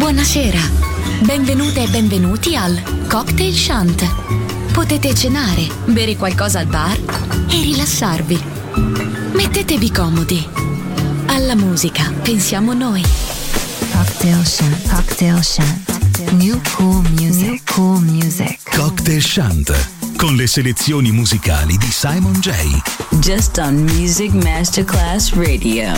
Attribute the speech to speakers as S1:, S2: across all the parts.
S1: Buonasera, benvenute e benvenuti al Cocktail Shant. Potete cenare, bere qualcosa al bar e rilassarvi. Mettetevi comodi. Alla musica pensiamo noi.
S2: Cocktail Shant, Cocktail Shant. New cool music, New cool music.
S3: Cocktail Shant, con le selezioni musicali di Simon J.
S4: Just on Music Masterclass Radio.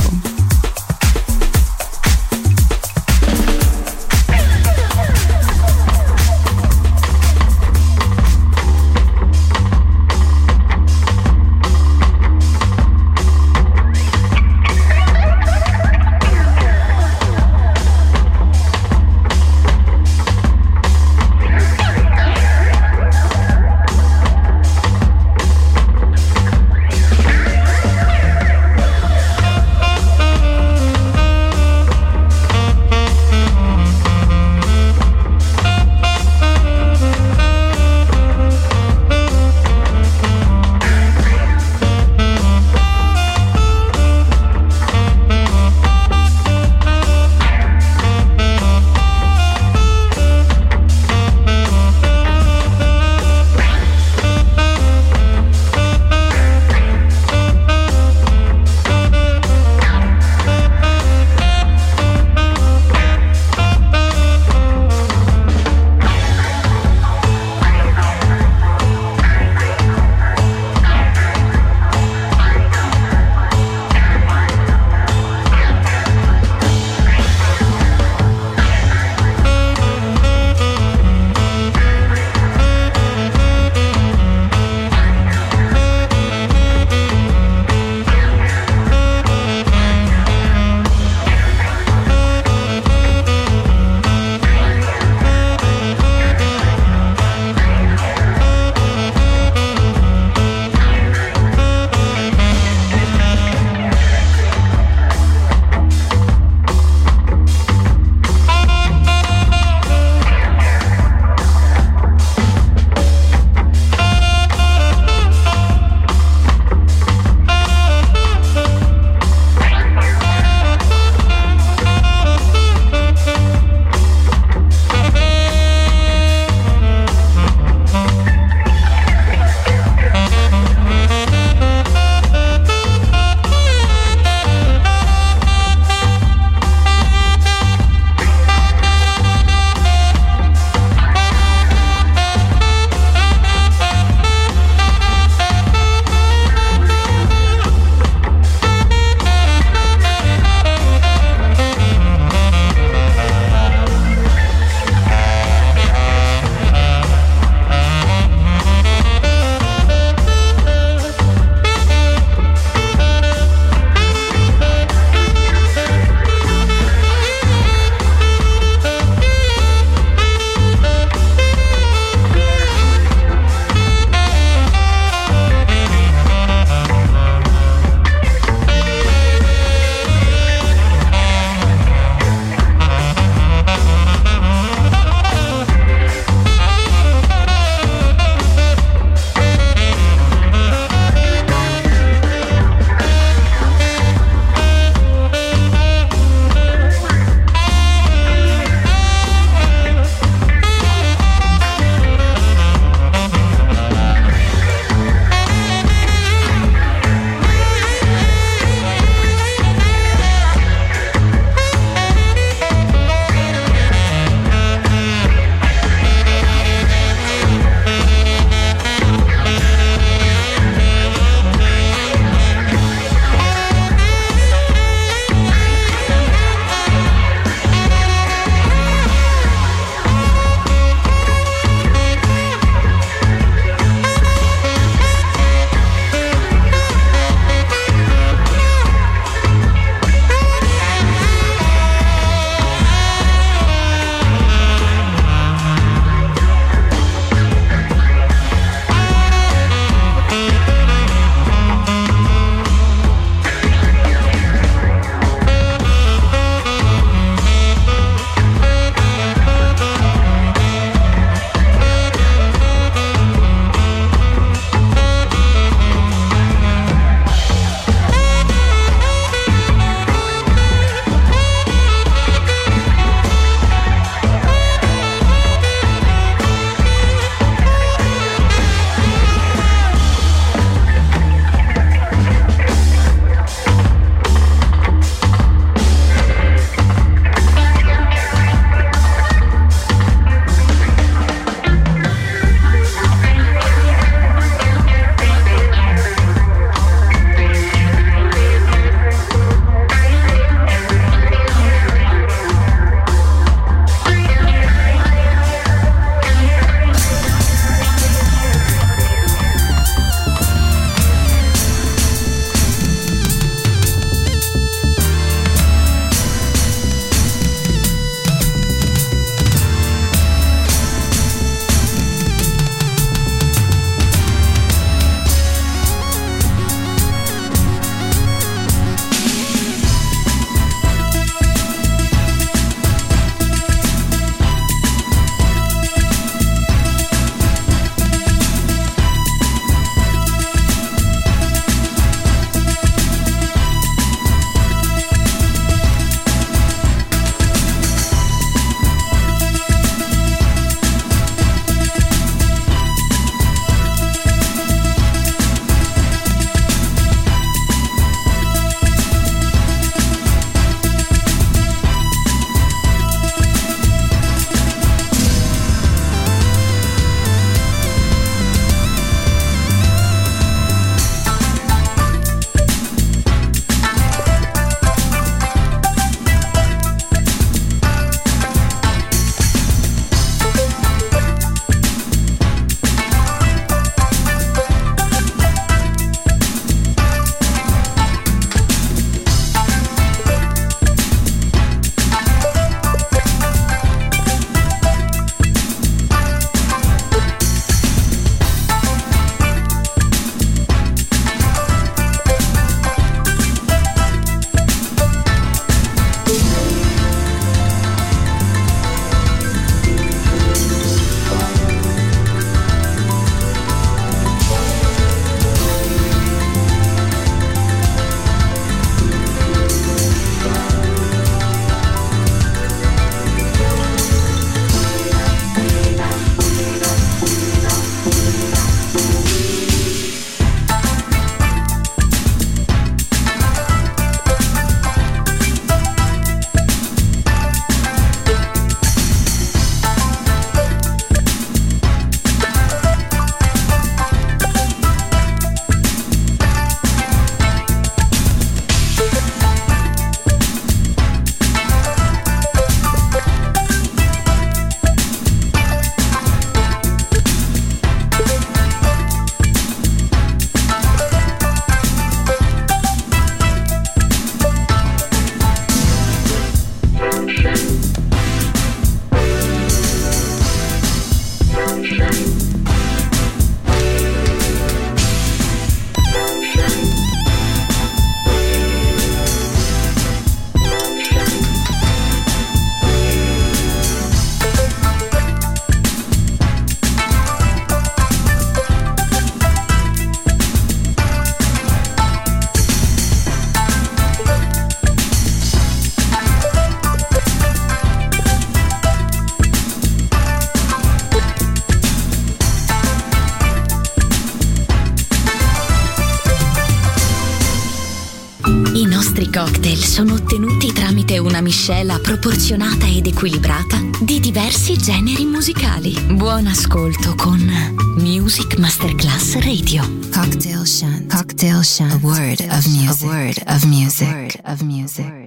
S1: cocktail sono ottenuti tramite una miscela proporzionata ed equilibrata di diversi generi musicali. Buon ascolto con Music Masterclass Radio.
S2: Cocktail Shant. Cocktail Shant. A word of music. A word of music. A word of music.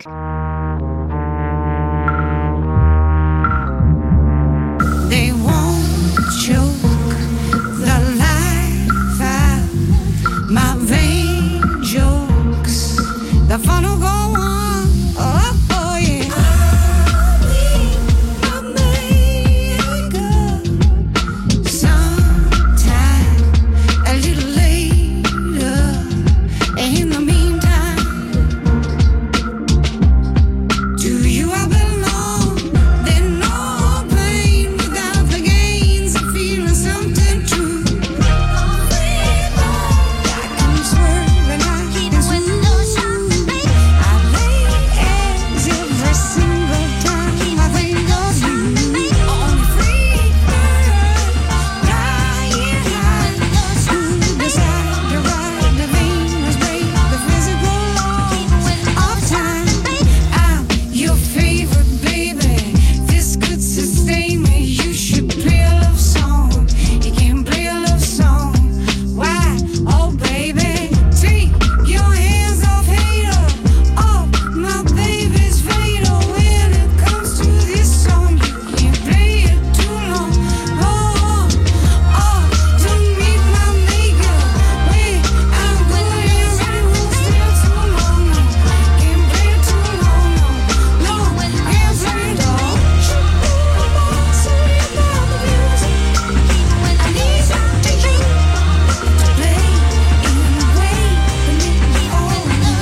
S5: They won't choke the life out my vain jokes. The fun will go on. Oh, oh yeah. I'll be a maker sometime a little later. And in the meantime, to you I belong. There's no pain without the gains of feeling something true. I can swerve and I can swing. I lay eggs every single time I think of you. On the free bird, flying high. Who decide to ride the Venus break the physical law of time? I'm your favorite baby. This could sustain me. You should play a love song. You can play a love song. Why? Oh baby, take your hands off hater. Oh my baby's fatal. When it comes to this song, you can't play it too long. Oh, oh, to meet my maker. Wait, I'm good and ready. Won't stay too long. No, can't play it too long. No, can't play it all. So you got the music. I need something to play in a way to make me all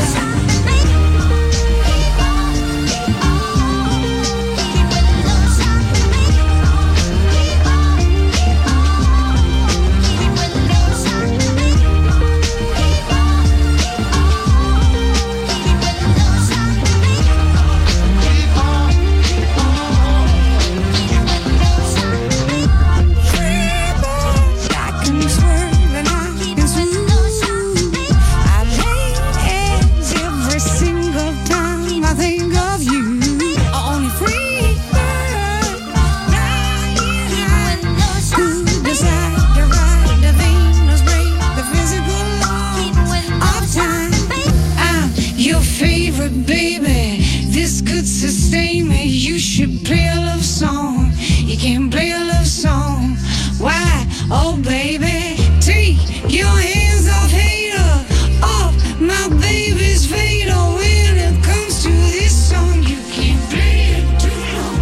S5: I can swerve and I can swing. I lay eggs every single time I think of you. On a free bird, flying high. Who decide to ride the Venus break the physical law of time? I'm your favorite baby. This could sustain me. You should play a love song. You can play a love song. Why? Oh baby, take your hands off hater. Off my baby's fatal. When it comes to this song, you can't play it too long.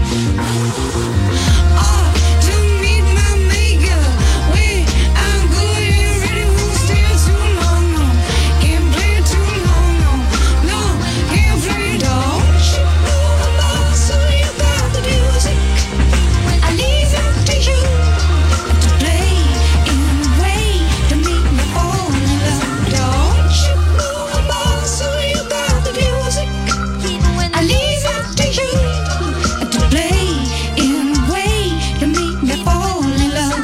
S5: Oh, to meet my maker. Wait, I'm good and ready. Won't stay too long. No, can't play it too long. No, no, can't play it all. You know I'm all, so you got the music. I leave it to you to play in a way to make me fall in love. Don't you know I'm all, so you got the music. I leave it to you to play in a way to make me fall in love.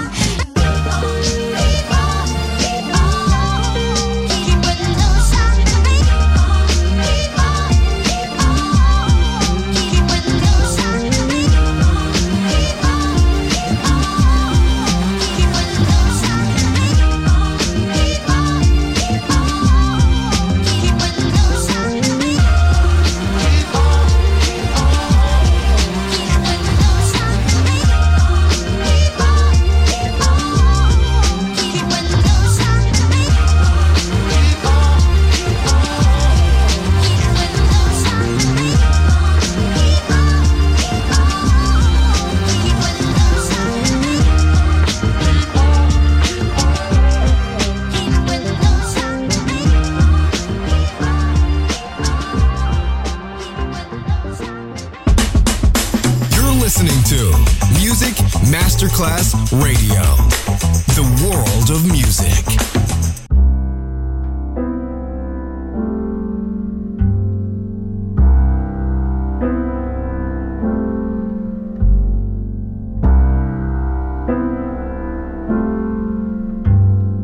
S6: listening to Music Masterclass Radio, the world of music.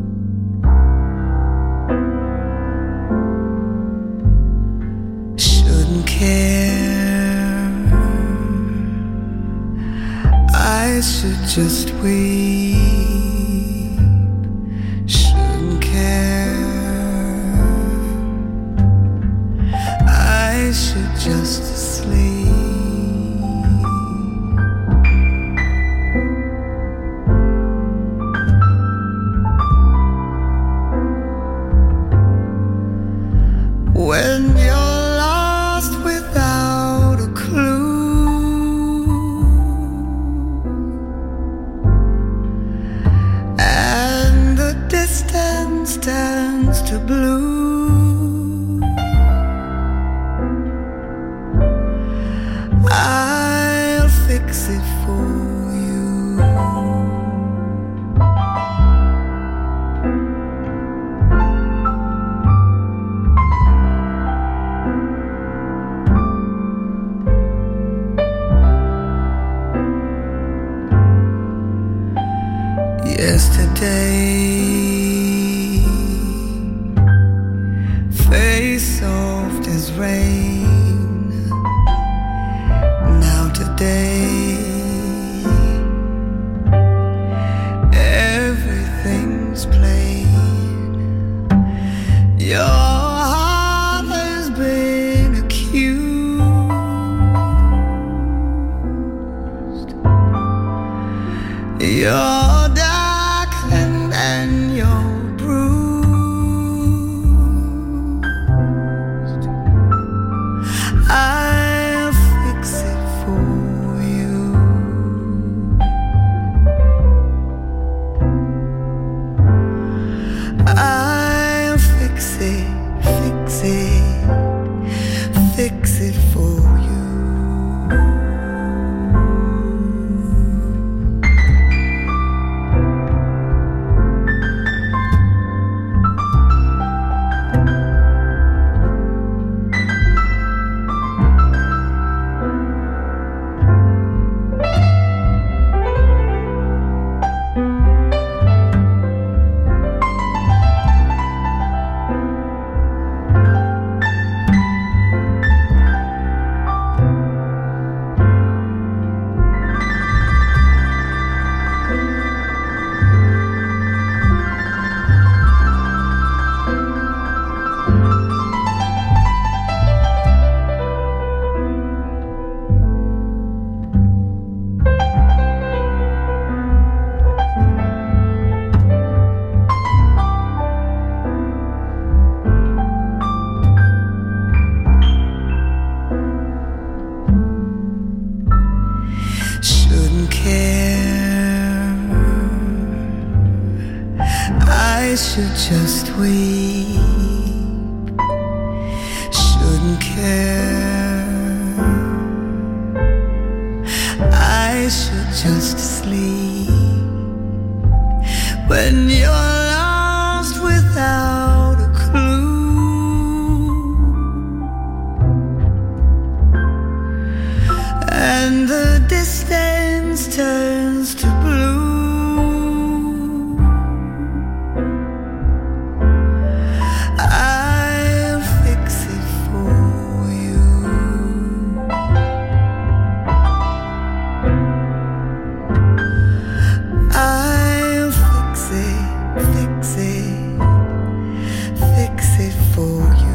S5: Should
S7: shouldn't care. I should just weep. Shouldn't care. I should just sleep. When you're lost without a clue, and the distance turns to blue, I'll fix it for you. Yesterday, face soft as rain. Now today, everything's plain. Your heart has been accused. You're darkened and you're bruised. I'll fix it for you. I'll fix it, fix it, fix it for you. Shouldn't care. I should just weep. Shouldn't care. I should just sleep. When you're lost without a clue, and the distance turns to blue, I'll fix it for you. I'll fix it, fix it, fix it for you.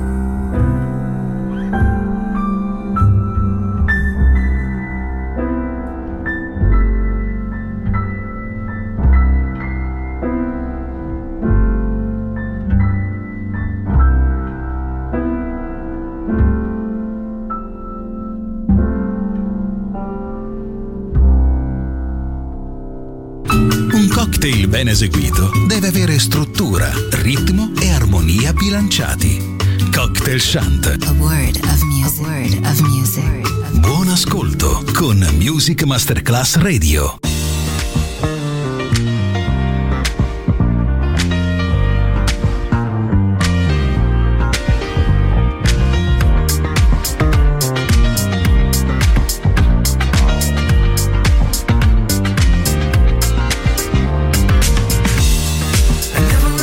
S3: Un cocktail ben eseguito deve avere struttura, ritmo e armonia bilanciati. Cocktail Shant.
S2: A word of music. A word of music.
S3: Buon ascolto con Music Masterclass Radio.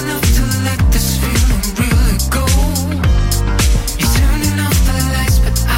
S5: But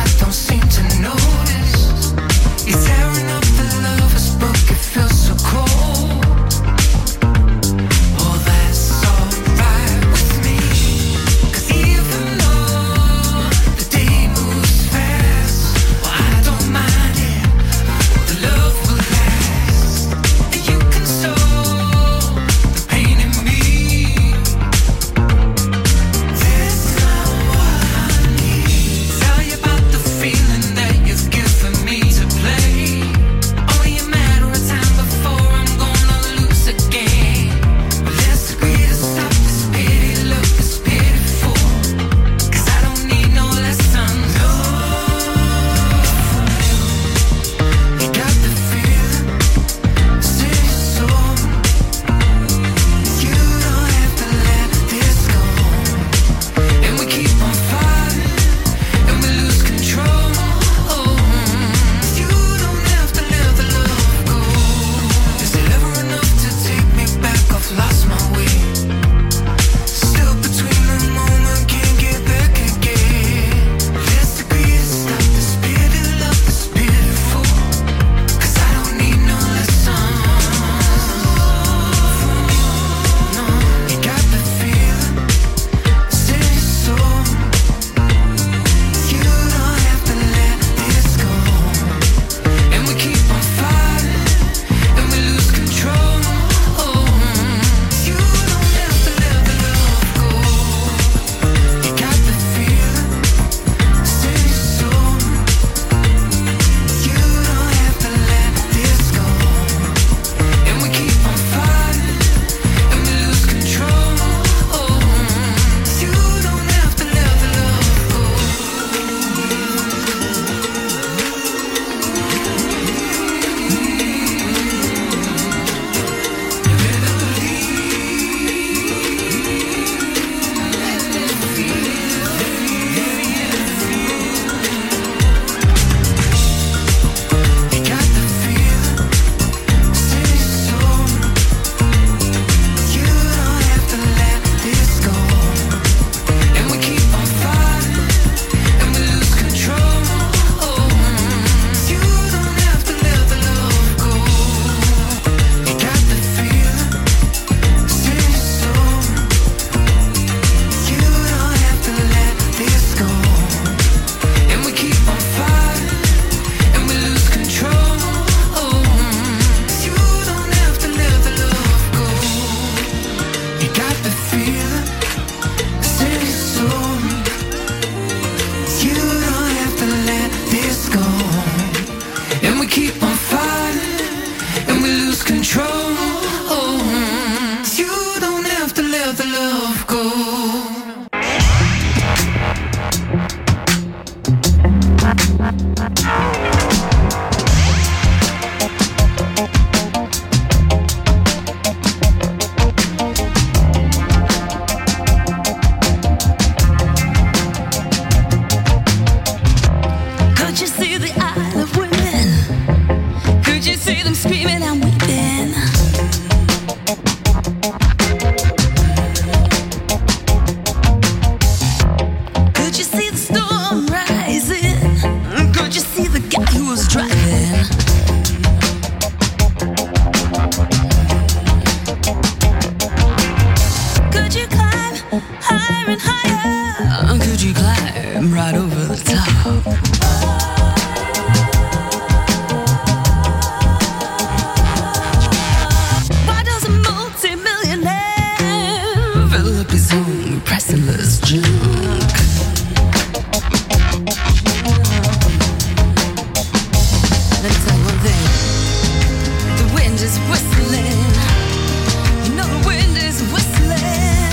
S5: is whistling. You know the wind is whistling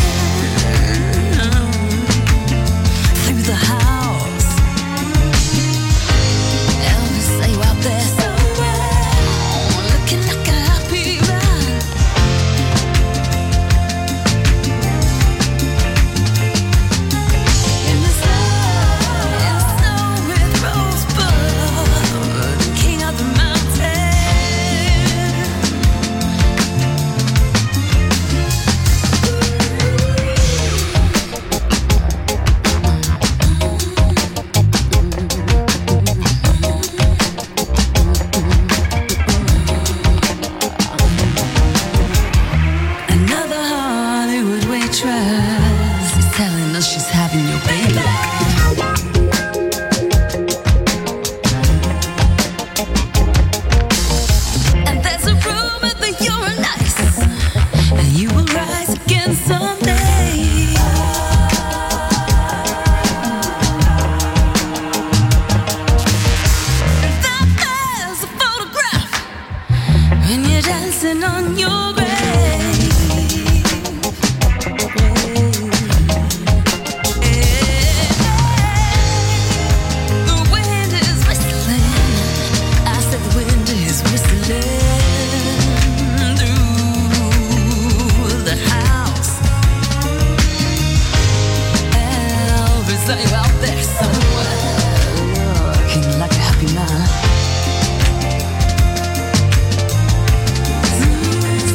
S5: through the house. Elvis, are you out there somewhere? Looking like a happy man. In the snow with Rosebud, king of the mountain. Another Hollywood waitress is telling us she's having your baby. And there's a rumor that you're nice, and you will rise again someday. That there's a photograph when you're dancing on your grave. The wind is whistling. I said the wind is whistling through the house. Elvis, are you out there somewhere? Looking like a happy man.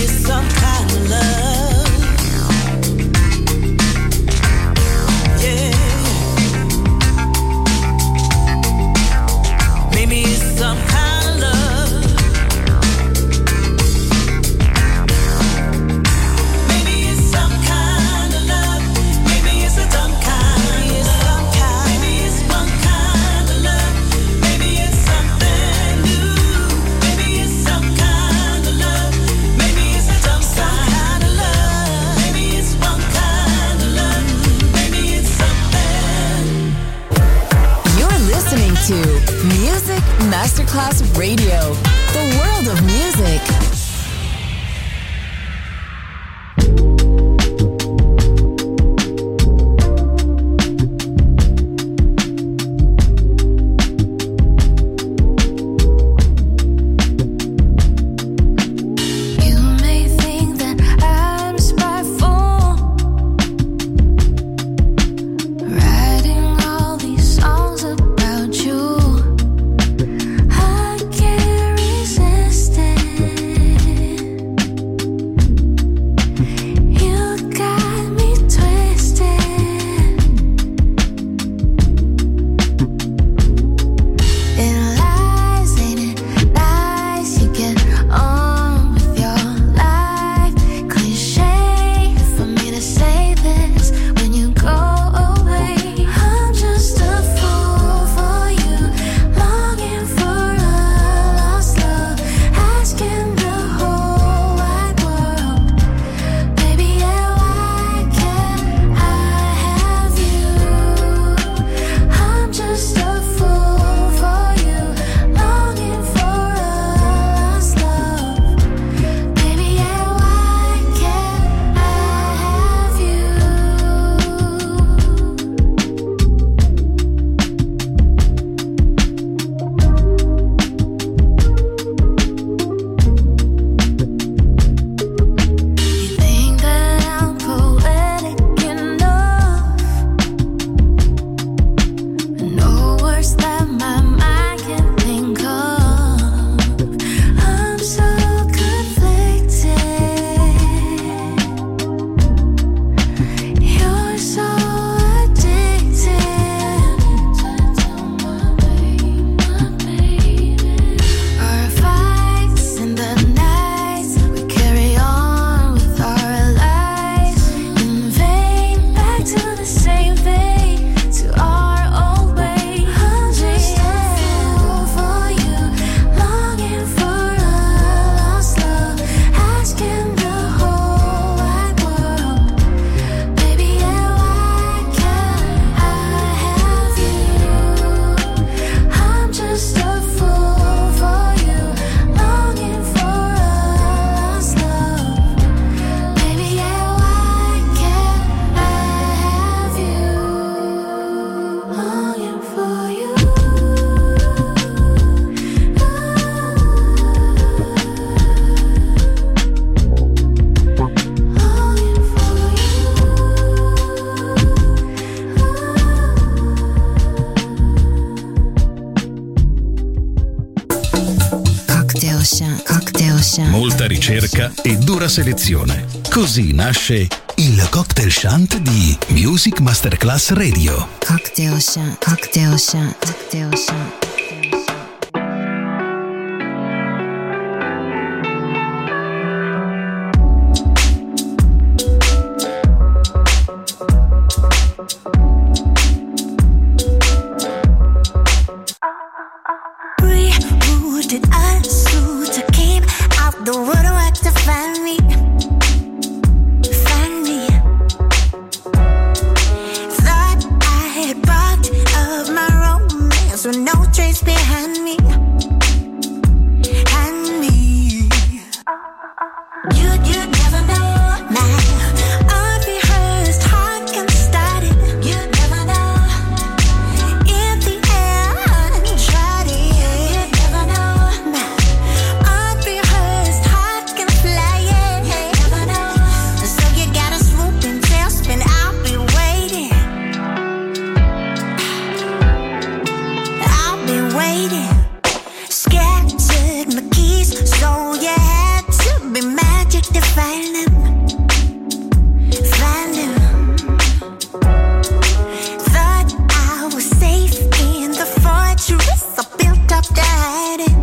S5: it's some kind of love. Yeah. Maybe it's some kind of love. Maybe it's some kind of love. Maybe it's a dumb kind. It's some kind. Maybe it's one kind of love. Maybe it's something new. Maybe it's some kind of love. Maybe it's a dumb kind of love. Maybe it's one kind of love. Maybe it's something.
S8: You're listening to Music Masterclass Radio, the world of music.
S5: You may think that I'm spiteful, writing all these songs about you. I can't resist it. You got me twisted. It lies, ain't it nice? You get on with your life. Cliché for me to say this when you go away. I'm just a fool for you, longing for a lost love, asking the whole wide world, baby, yeah, why can't I have you? I'm just a fool for you, longing for a lost love, baby, yeah, why can't I have you? You think that I'm poetic enough? No words that my mind can think of. I'm so conflicted. You're so addicted. Our fights in the nights, we carry on with our lives in vain, back to the same vein, to our old way. I'm just a fool for you, longing for a lost love, asking the whole wide world, baby, yeah, why can't I have you? I'm just a fool for you, longing for a lost love, baby, yeah, why can't I have you? Longing for you. Longing for
S2: Cocktail Shant, Cocktail Shant,
S3: Molta ricerca e dura selezione. Così nasce il Cocktail Shant di Music Masterclass Radio.
S2: Cocktail Shant, Cocktail Shant, Cocktail Shant.
S5: Rooted unsuited to keep out the woodwork to find me. Find me. Thought I had brought up my romance with no trace find them. Thought I was safe in the fortress I built up to hiding.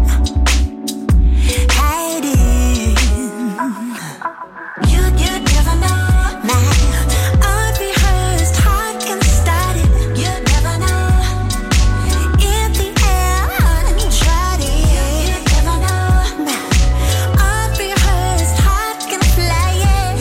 S5: You never know. My unrehearsed heart can start it. You never know. In the air, uncharted. You never know. My unrehearsed heart can fly it.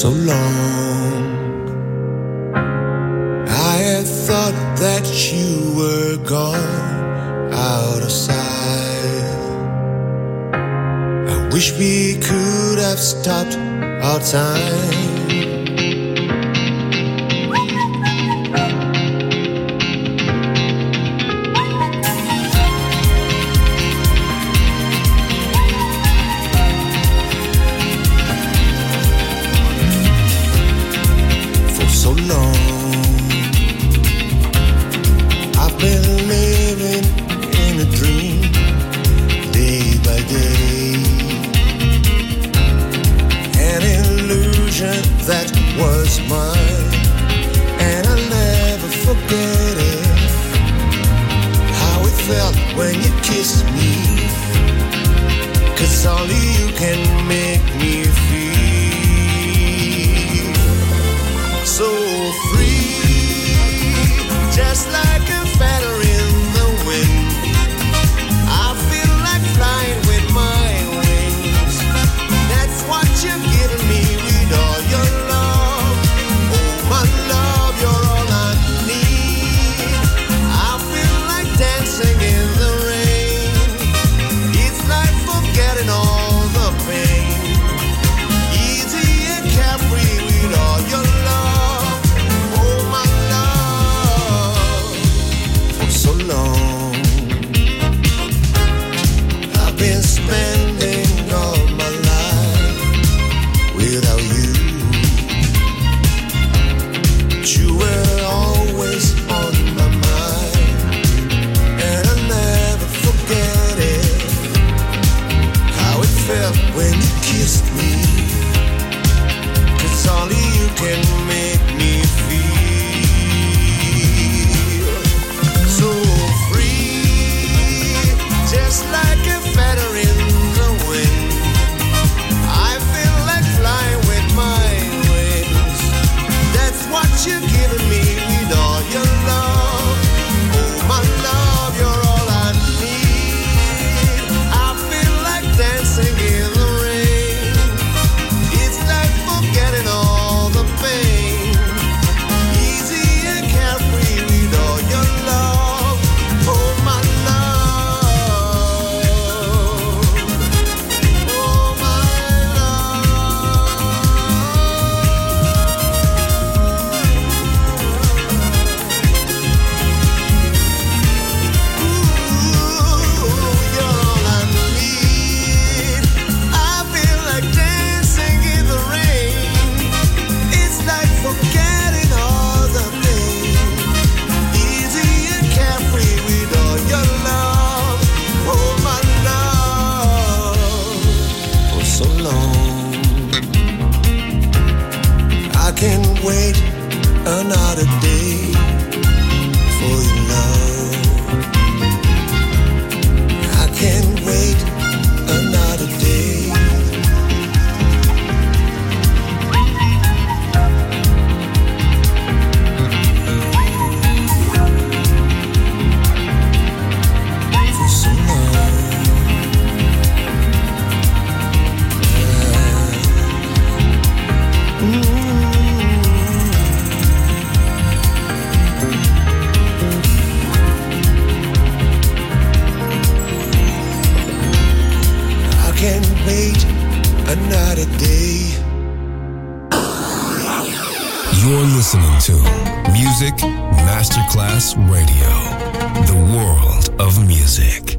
S7: so long. I had thought that you were gone, out of sight. I wish we could have stopped our time. That was mine, and I'll never forget it. How it felt when you kissed me, 'cause only you can make me feel so free, just like a feather in the wind. I feel like flying with my wings. That's what you're giving me. All your love, oh my love, you're all I need. I feel like dancing in the rain. It's like forgetting all the pain. Easy and carefree with all your love, oh my love. For so long I've been spending all my life without you. You were always on my mind, and I'll never forget it. How it felt when you kissed me, 'cause only you can make me feel so free, just like a feather in the wind. I feel like flying with my wings. That's what you're giving me with all your love. Oh my love, you're all I need. I feel like dancing in the rain. It's like forgetting all the pain. Easy and carefree with all your love. Oh my love. Oh my forgetting all the pain. Easy and carefree with all your love. Oh my love. For so long I can't wait another day for your love. I can't wait another day. Wait another day.
S6: You're listening to Music Masterclass Radio, the world of music.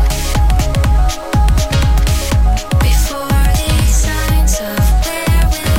S5: Before the signs of where we'll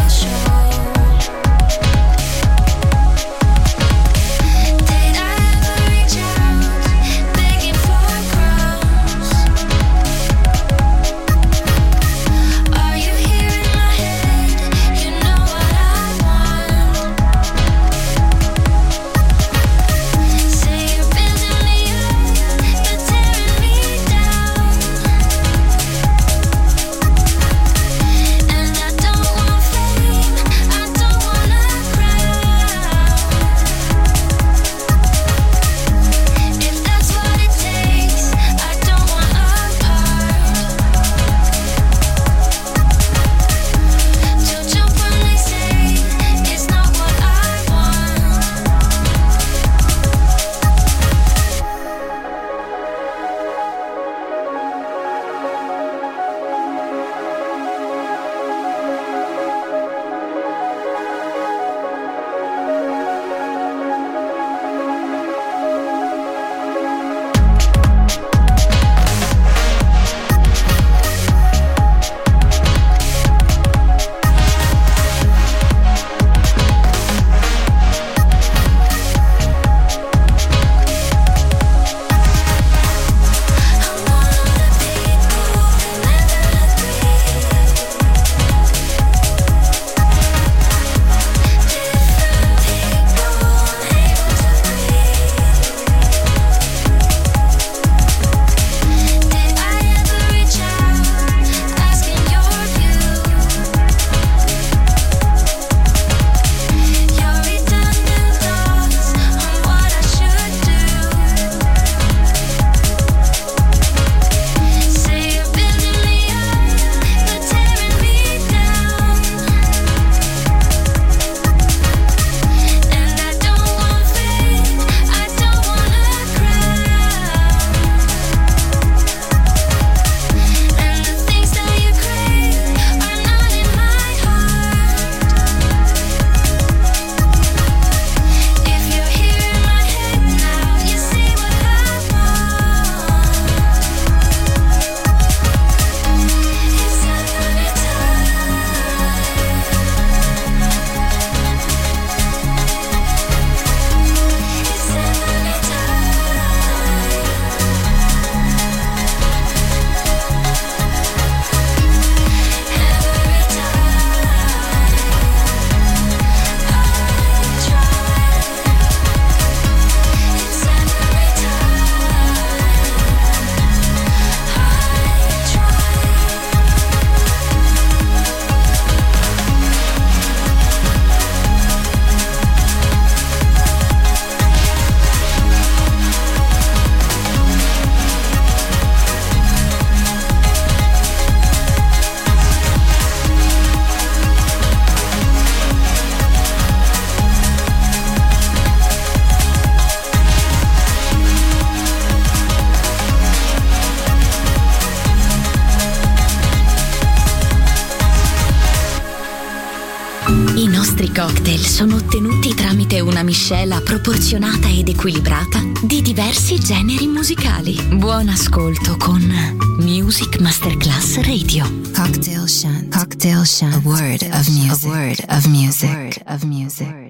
S1: nostri cocktail sono ottenuti tramite una miscela proporzionata ed equilibrata di diversi generi musicali. Buon ascolto con Music Masterclass Radio.
S2: Cocktail Shant. Cocktail Shant. A word of music. A word of music. A word of music.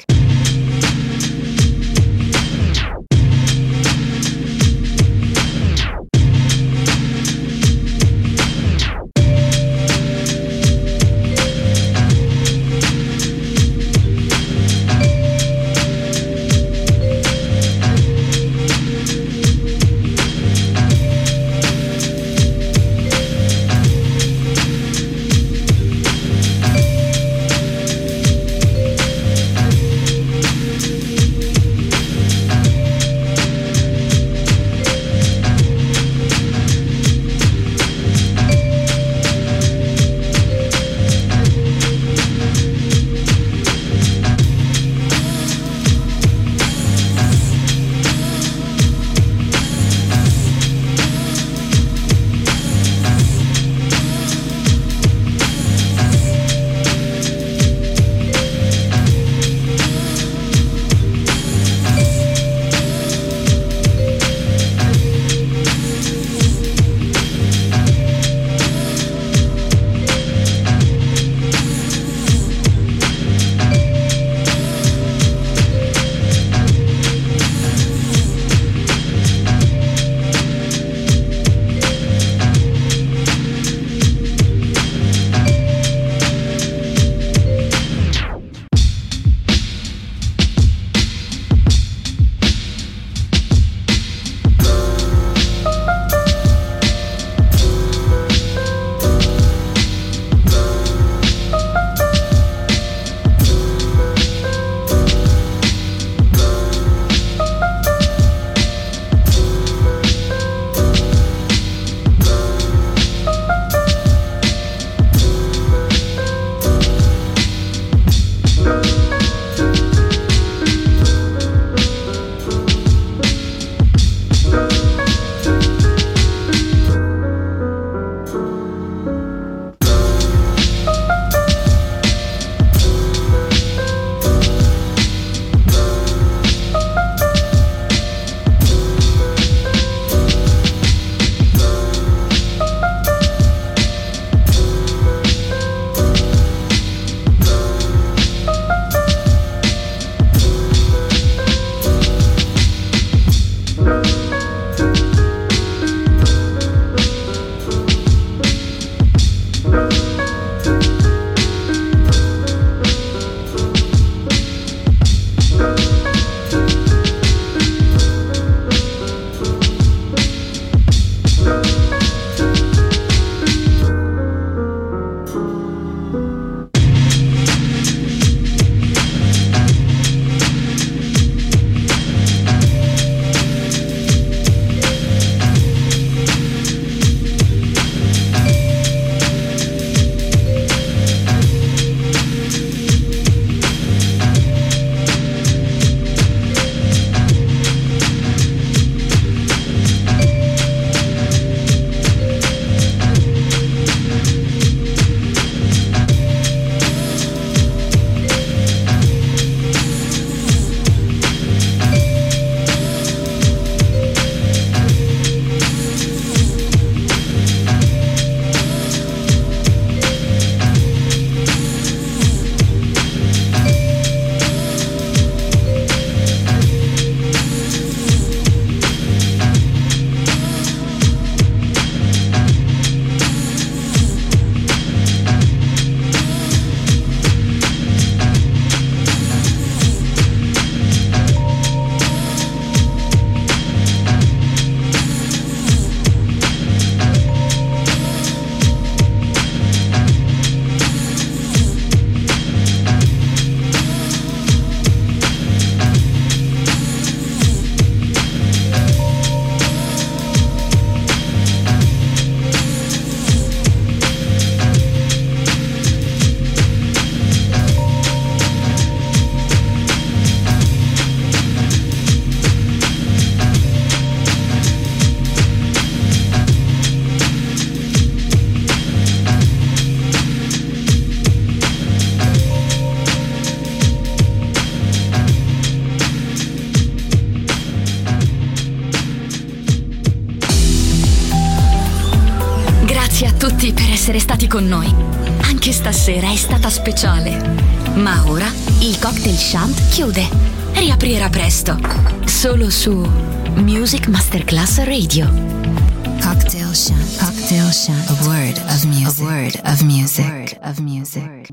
S1: stati con noi. Anche stasera è stata speciale. Ma ora il Cocktail Shant chiude. Riaprirà presto. Solo su Music Masterclass Radio.
S2: Cocktail Shant. Cocktail Shant. A word of music. A word of music.